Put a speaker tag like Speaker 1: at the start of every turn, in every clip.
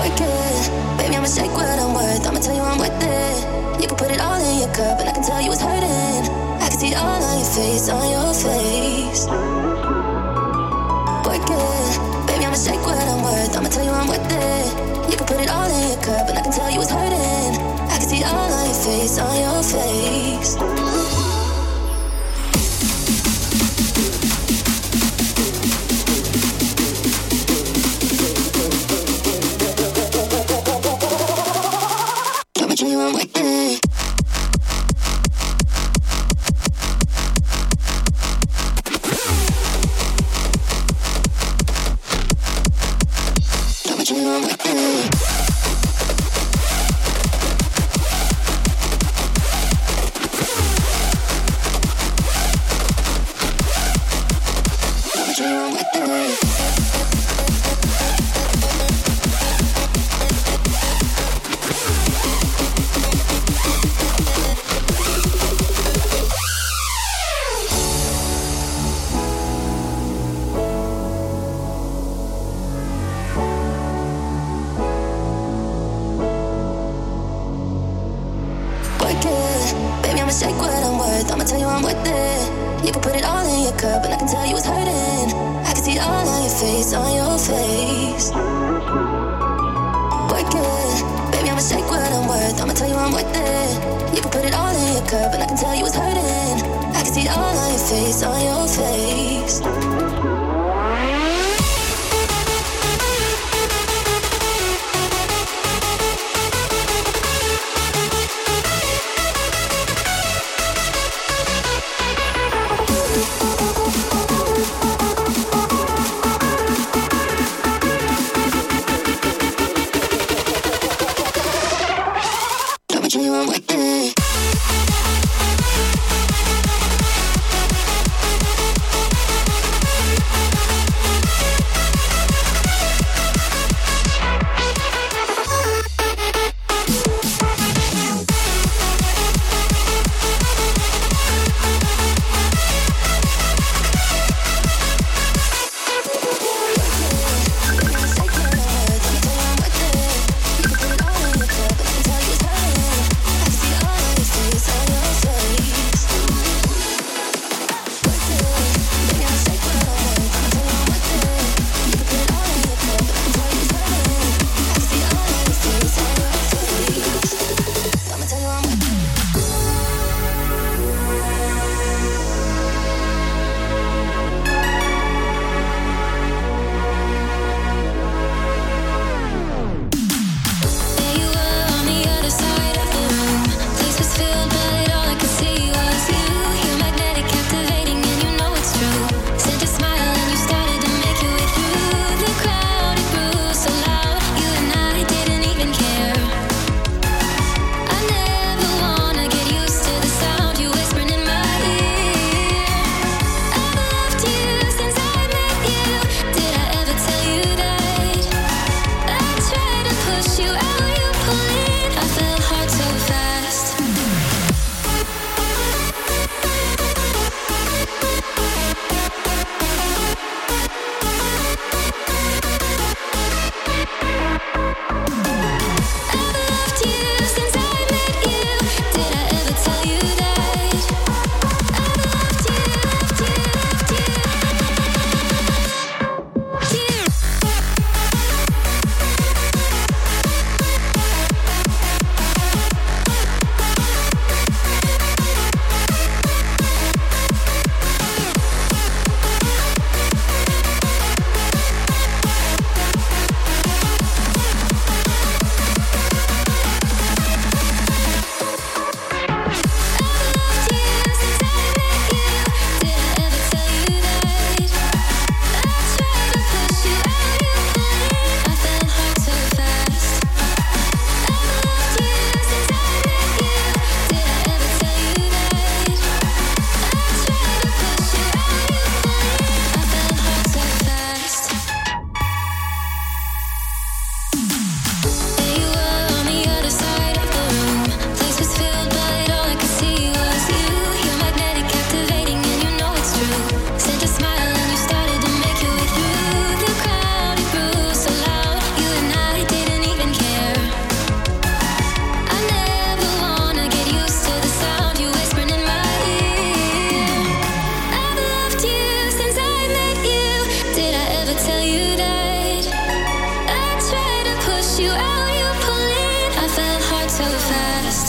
Speaker 1: Work it, baby, I'ma shake what I'm worth. I'ma tell you I'm worth it. You can put it all in your cup, and I can tell you it's hurting. I can see it all on your face, on your face. Work it, baby, I'ma shake what I'm worth. I'ma tell you I'm worth it. You can put it all in your cup, and I can tell you it's hurting. I can see it all on your face, on your face. push you out, you pull in. I fell hard so fast.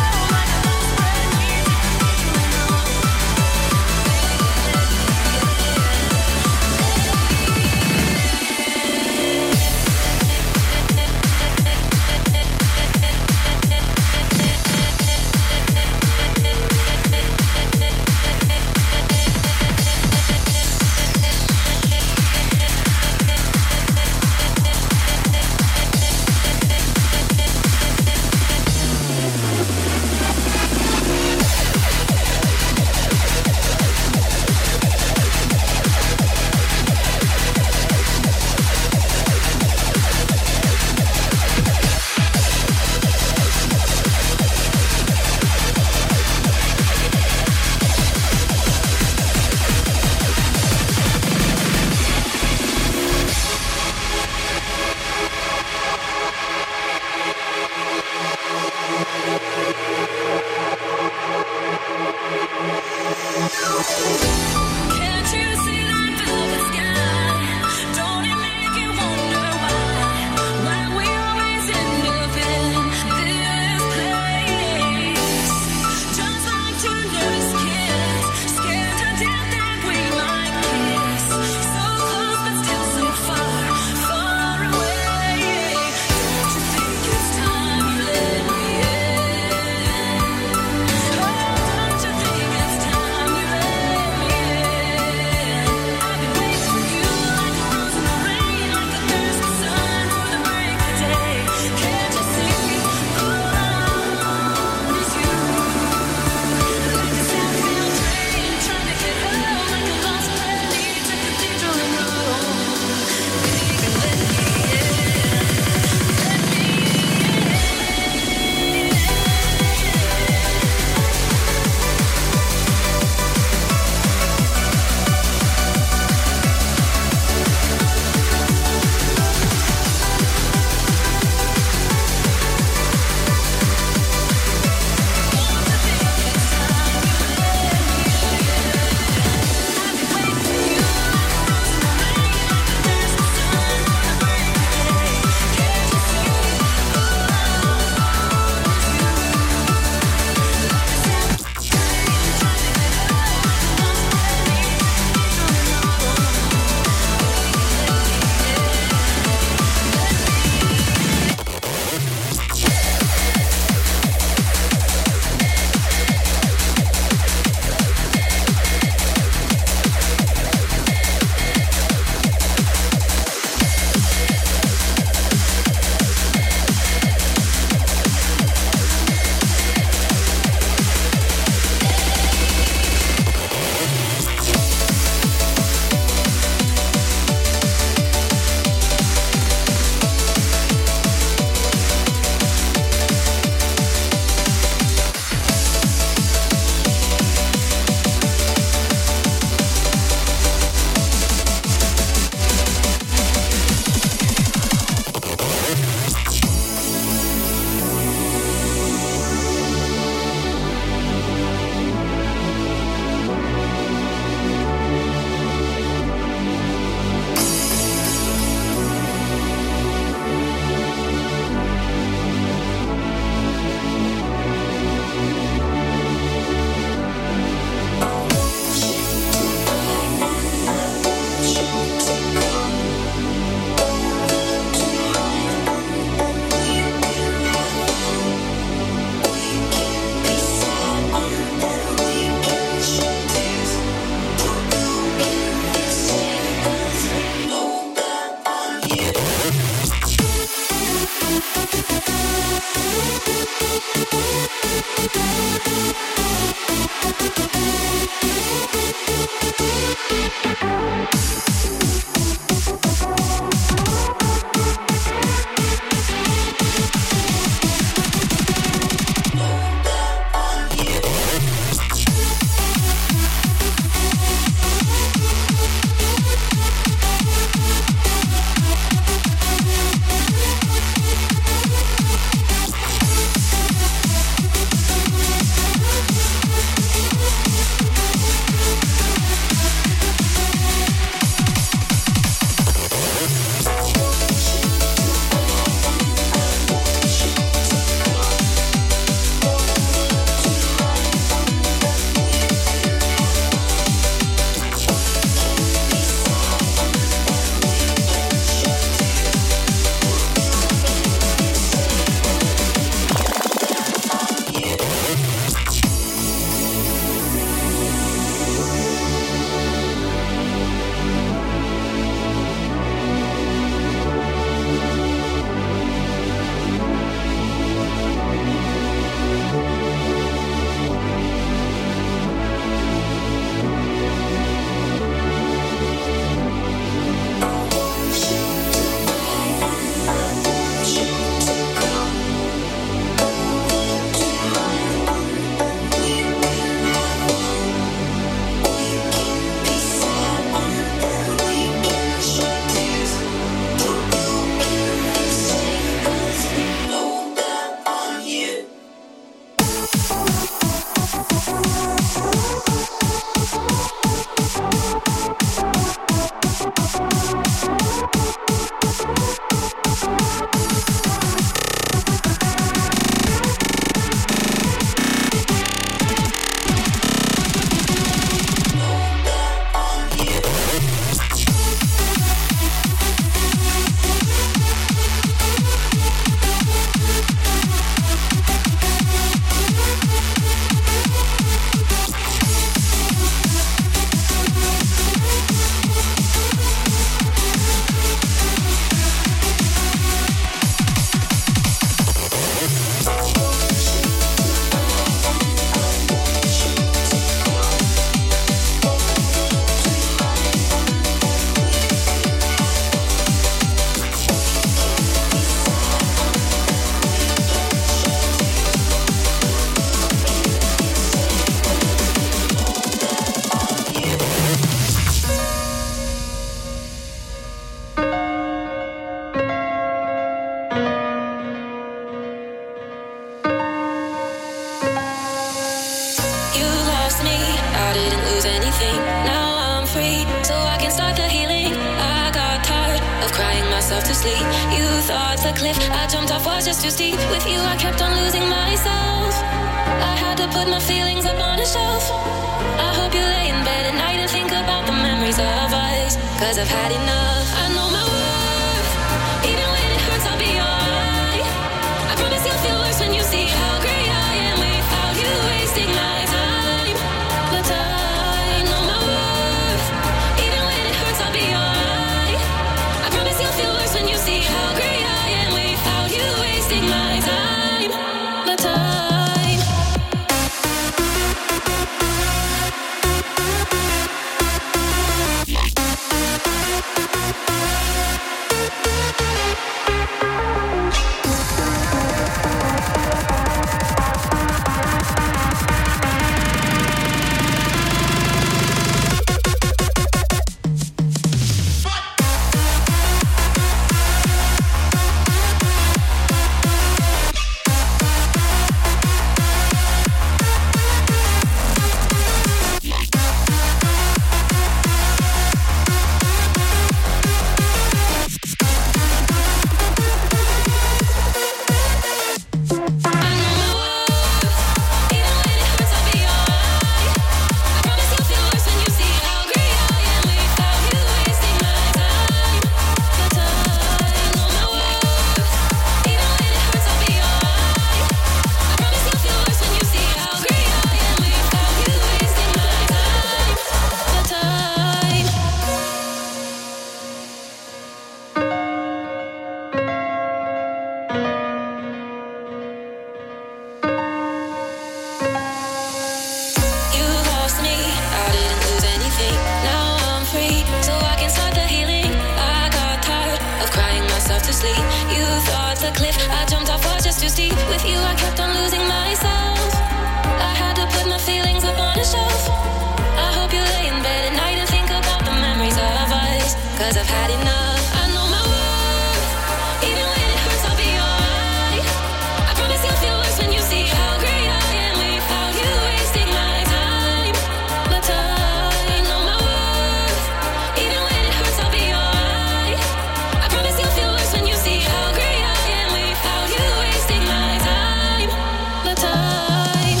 Speaker 1: sleep. You thought the cliff I jumped off was just too steep. With you I kept on losing myself. I had to put my feelings up on a shelf. I hope you lay in bed at night and think about the memories of us. 'Cause I've had enough. I know my worth. Even when it hurts I'll be alright. I promise you'll feel worse when you see how great I am without you wasting my time. My time. I know my worth. Even when it hurts I'll be alright. I promise you'll feel worse when you see how great I am without you wasting my time. My time.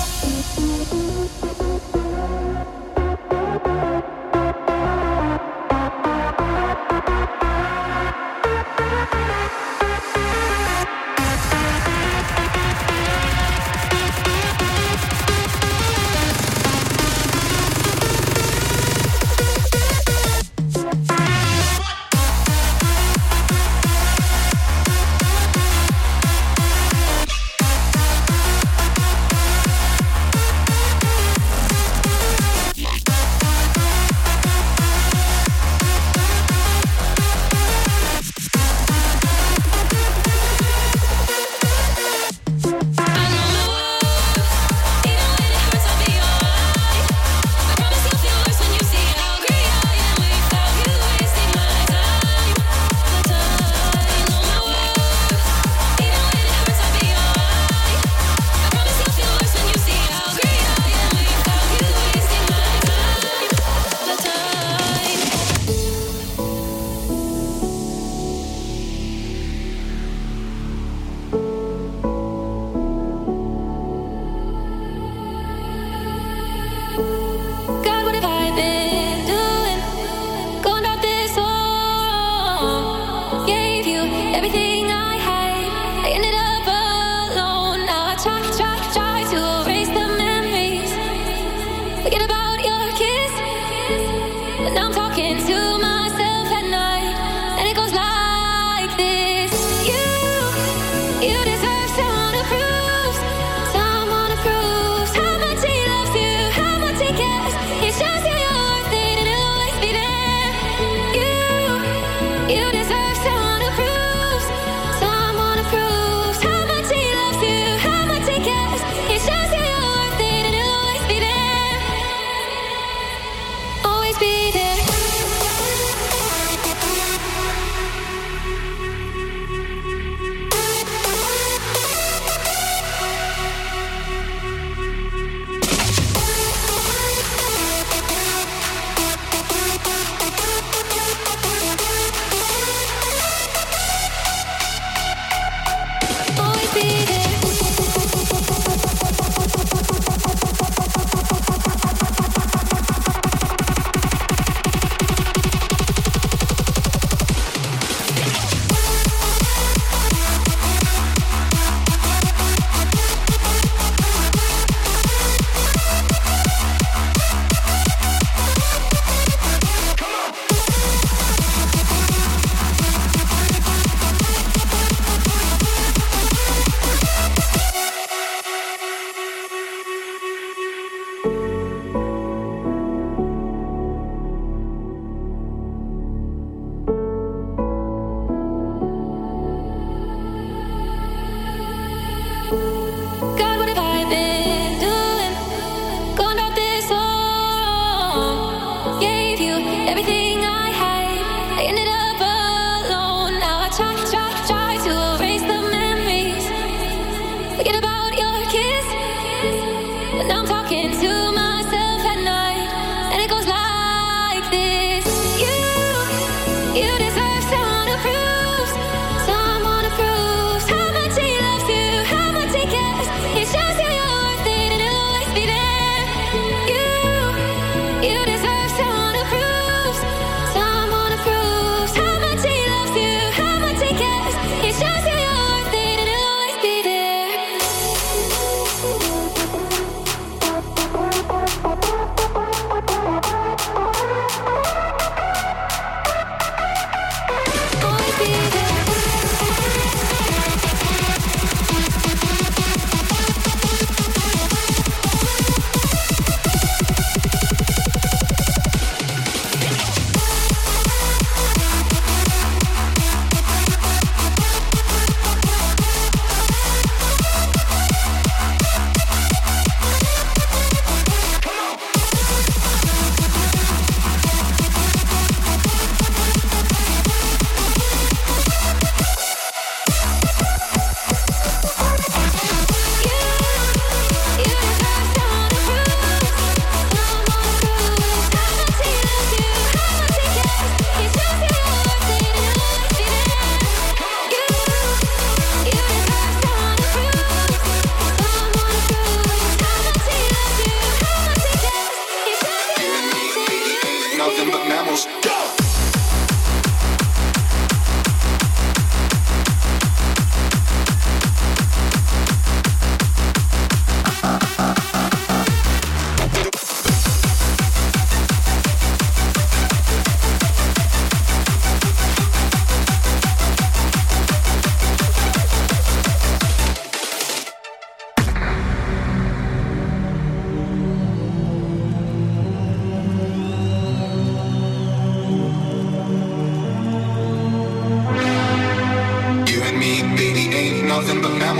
Speaker 1: God, what have I been doing? Going about this wrong. Gave you everything I had. I ended up alone. Now I try to erase the memories. Forget about your kiss. But now I'm talking to myself at night. And it goes like this. You deserve someone who proves how much he loves you, how much he cares. He shows you you're worth it and he'll always be there. You deserve someone who proves how much he loves you, how much he cares. He shows you you're worth it and he'll always be there. Always be there. Always be there. God, what have I been doing? Going about this wrong. Gave you everything I had. I ended up alone. Now I try to erase the memories. Forget about your kiss. But now I'm talking to myself at night. And it goes like this. You deserve someone who proves how much he loves you, how much he cares. He shows you you're worth it and he'll always be there. You deserve someone who proves how much he loves you, how much he cares. He shows you you're worth it and he'll always be there.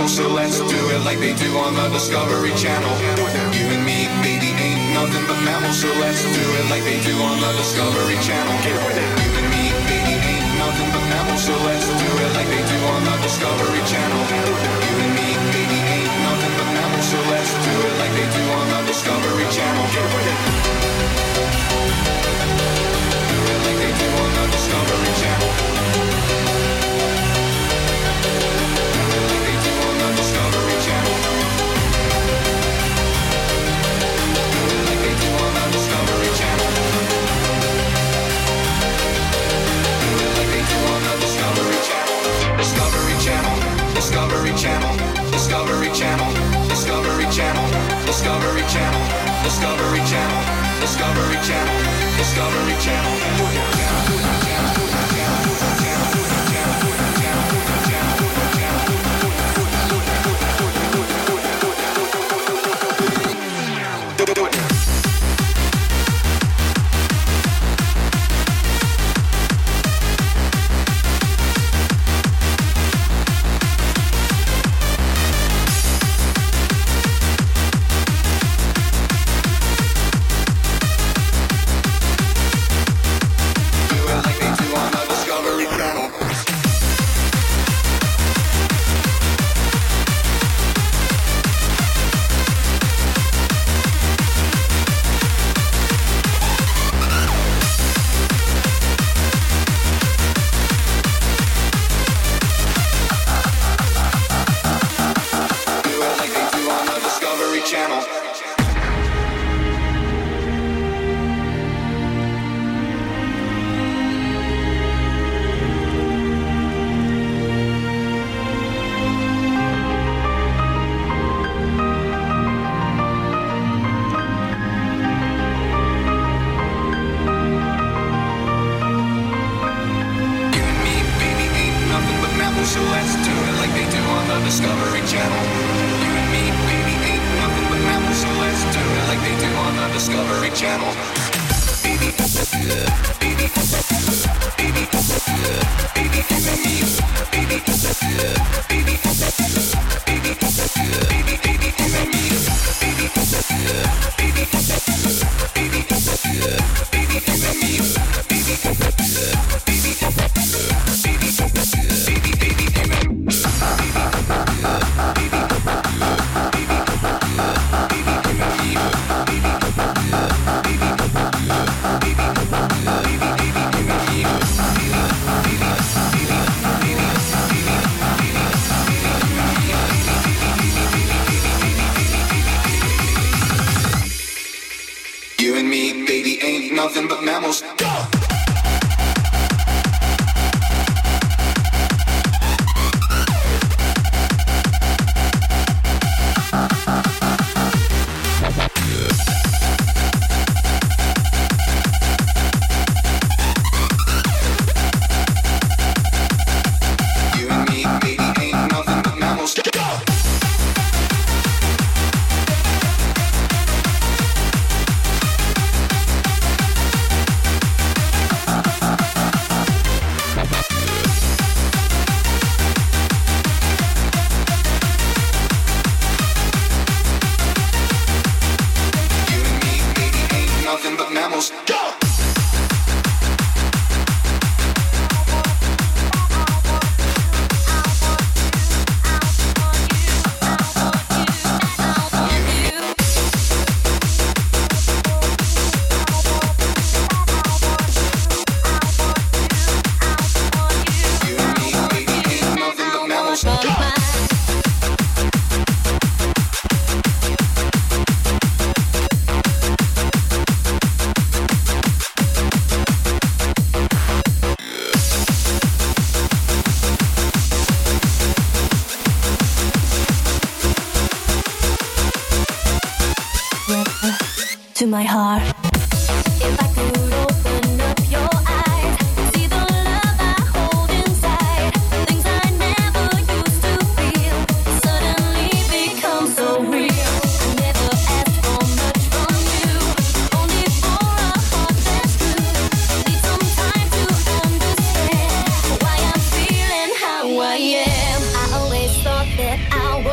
Speaker 2: mammals, so let's do it like they do on the Discovery Channel. You and me, baby, ain't nothing but mammals, so let's do it like they do on the Discovery Channel. You and me, baby, ain't nothing but mammals, so let's do it like they do on the Discovery Channel. You and me, baby, ain't nothing but mammals, so let's do it like they do on the Discovery Channel. Do it like they do on the Discovery Channel. Discovery Channel, Discovery Channel, Discovery Channel, Discovery Channel, Discovery Channel, Discovery Channel, Discovery Channel, Discovery Channel. Nothing but mammals. Go!
Speaker 1: To my heart. If I could open up your eyes, see the love I hold inside, things I never used to feel suddenly become so real. I never asked for much from you, only for a heart that's true. Need some time to understand why I'm feeling how I am. I always thought that I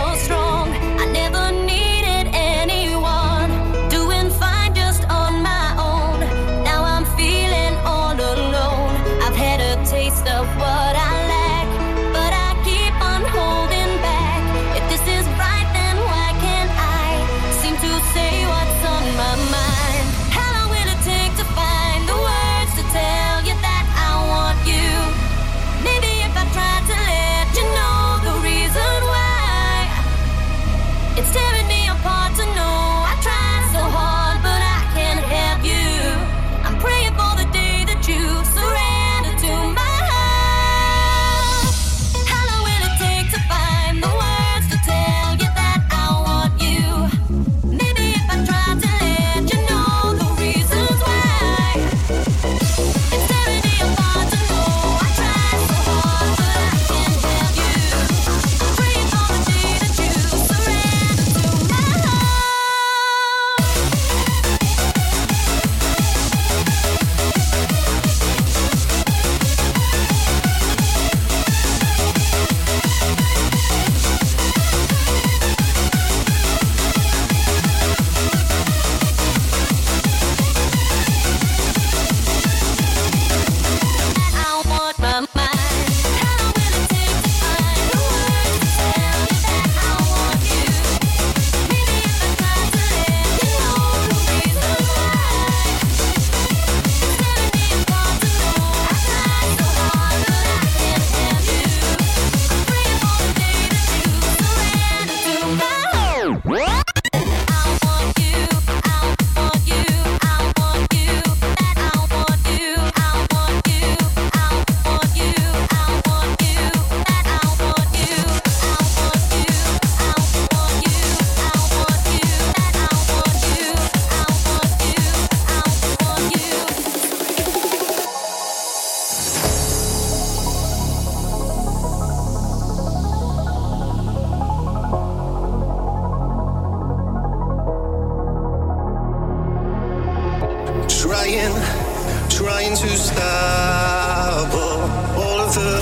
Speaker 3: trying to stop all of the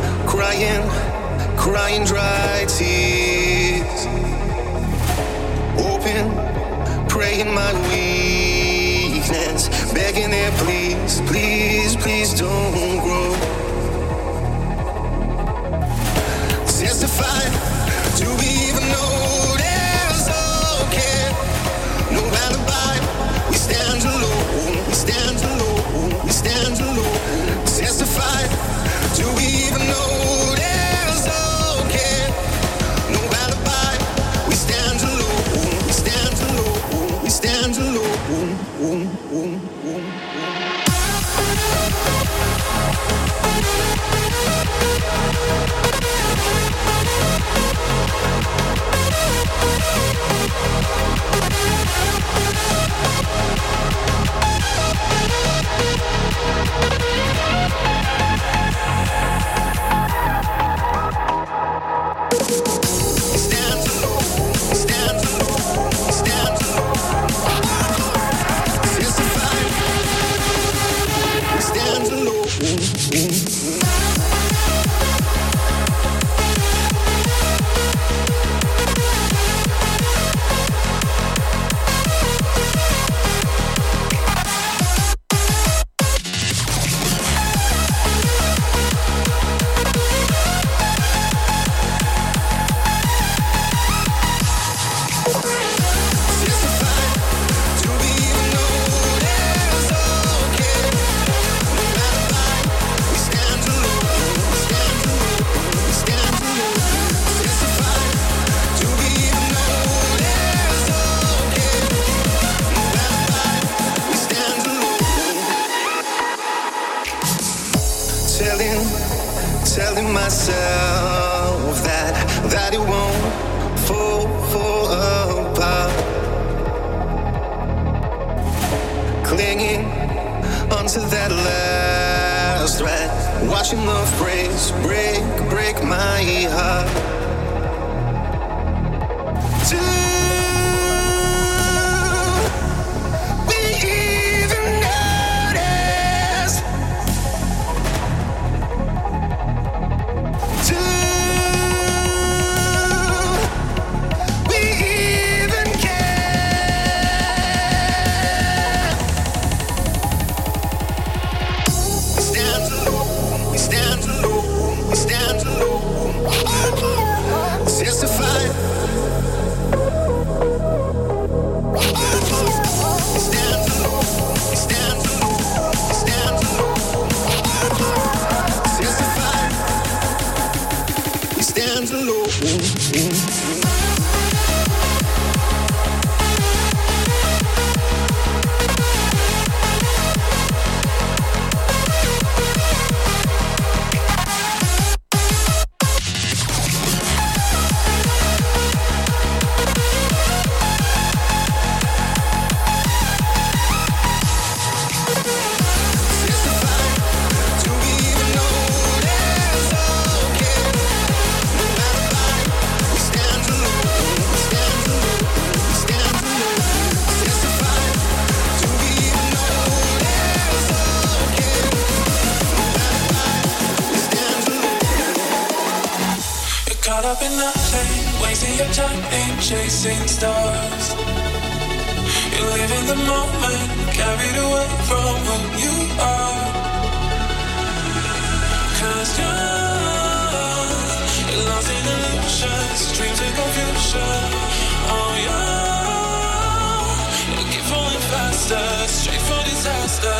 Speaker 3: crying dry tears. Open, praying my weakness, begging there, please, please, please don't grow. Testify, do we even know there's okay? No alibi, we stand alone, we stand alone, we stand alone. Testify, do we even know there's okay? No alibi, we stand alone, we stand alone, we stand alone. Telling myself that it won't fall apart. Clinging onto that last thread, watching love break my heart.
Speaker 4: Chasing stars, you live in the moment, carried away from who you are. 'Cause you're lost in illusions, dreams and confusion. Oh yeah, you keep falling faster, straight for disaster.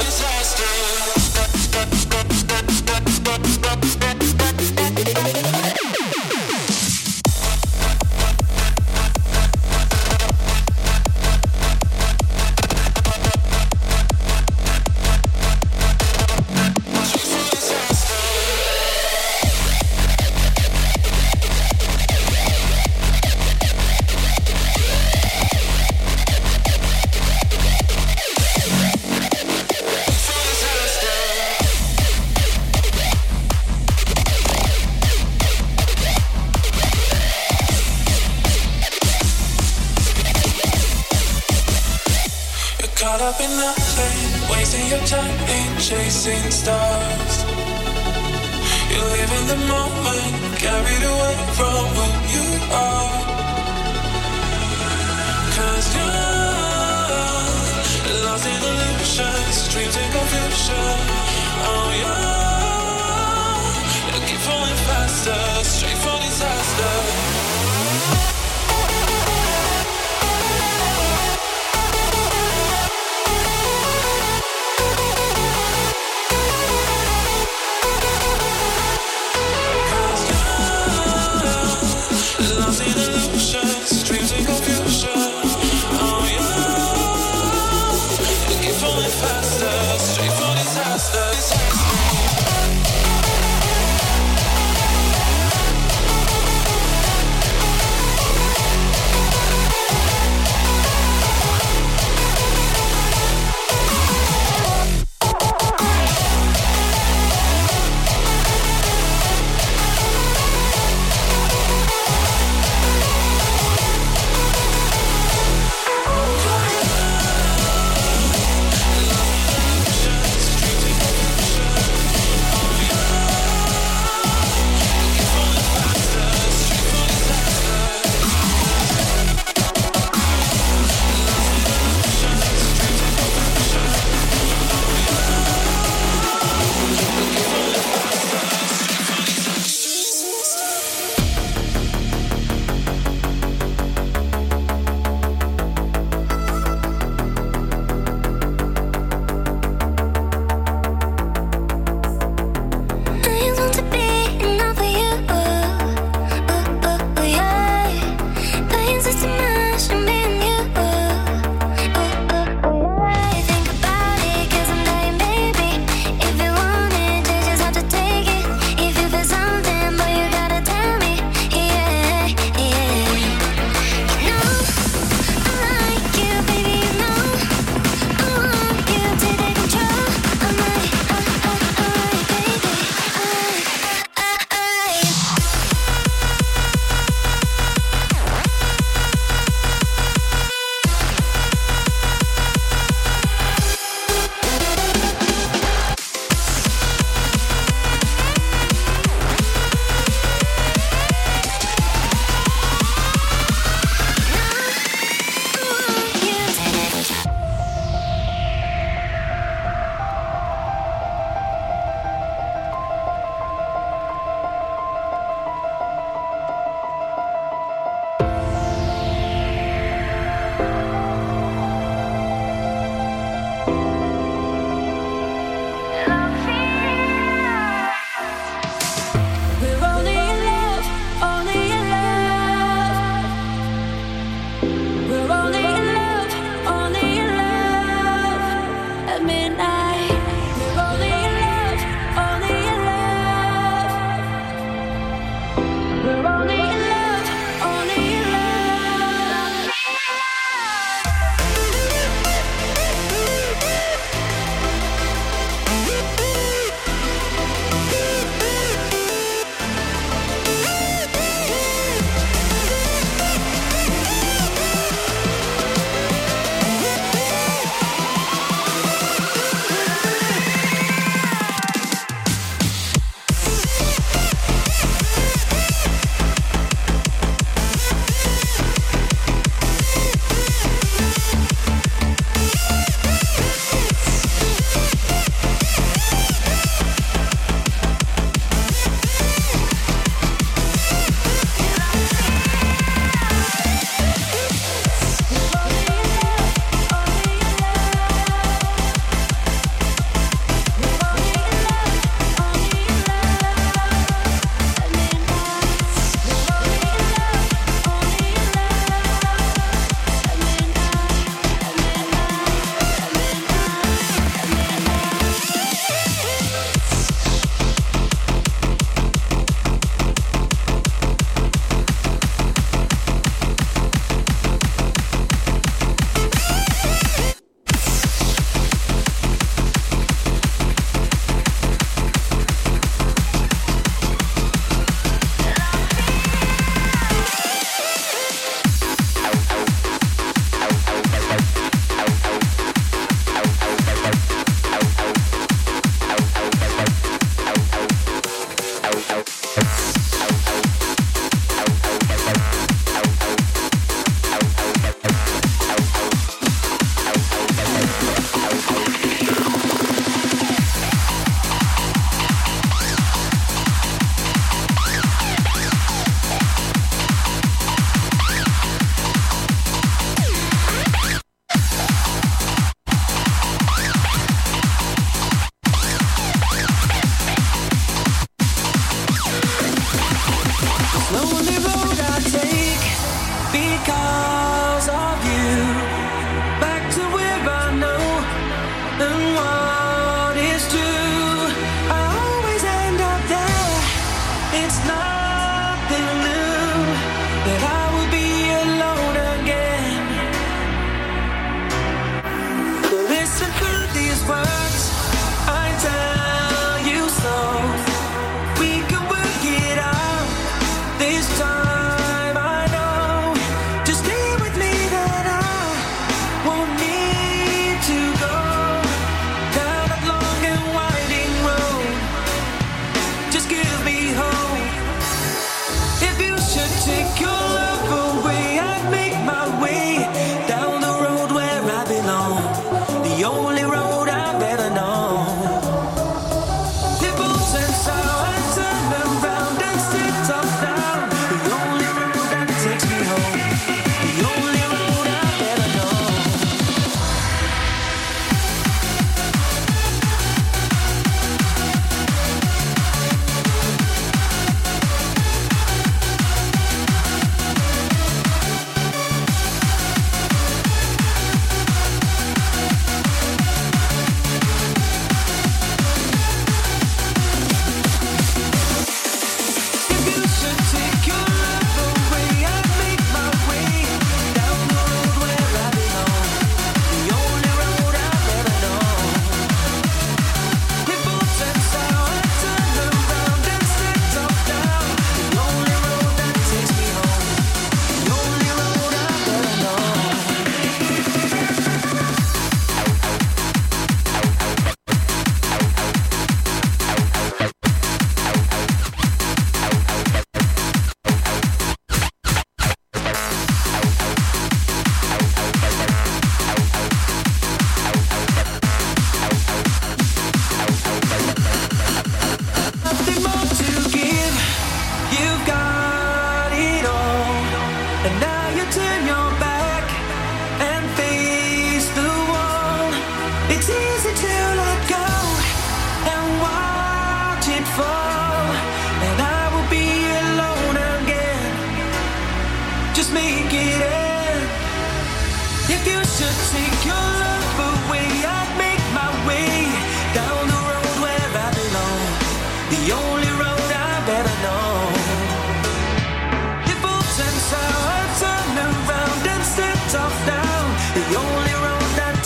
Speaker 4: Caught up in nothing, wasting your time in chasing stars. You live in the moment, carried away from who you are. 'Cause you're lost in illusions, dreams in confusion. Oh yeah, you keep falling faster, straight for disaster. Dreams and confusion. Oh yeah, you keep falling faster, straight for disaster.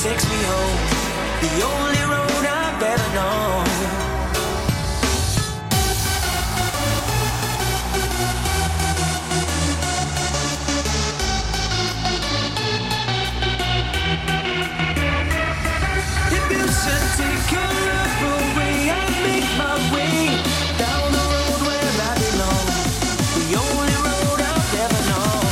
Speaker 5: takes me home, the only road I've ever known. If you should take your love away, I'll make my way down the road where I belong, the only road I've ever known.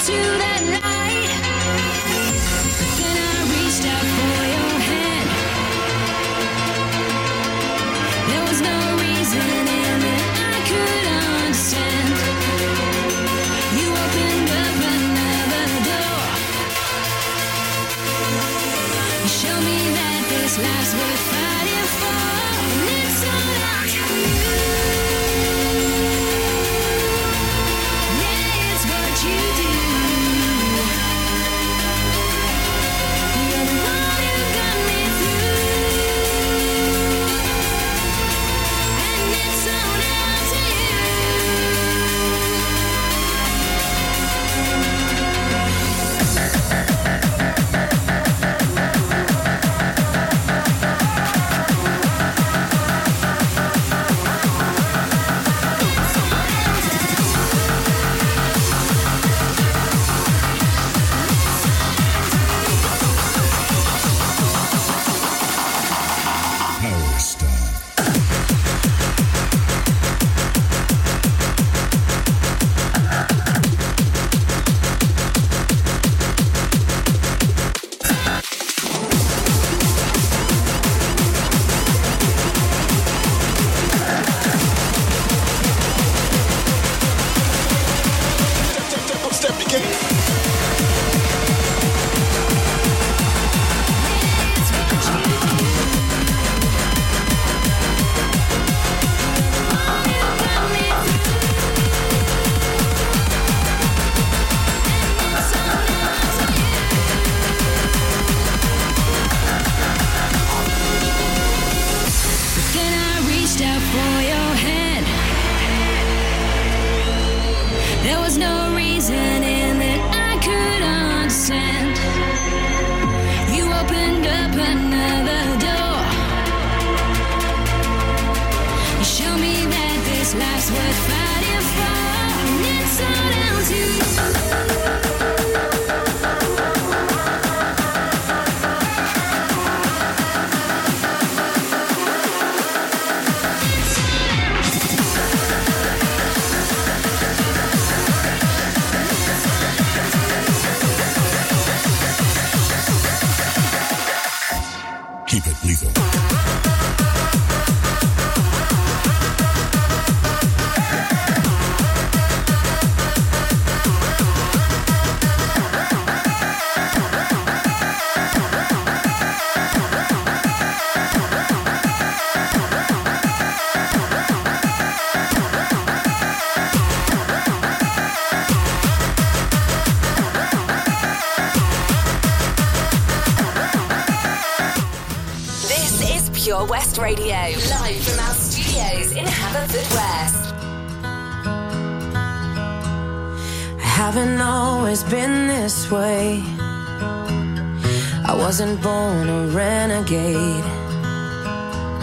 Speaker 6: Pure West Radio, live from our studios in Haverfordwest.
Speaker 7: I haven't always been this way. I wasn't born a renegade.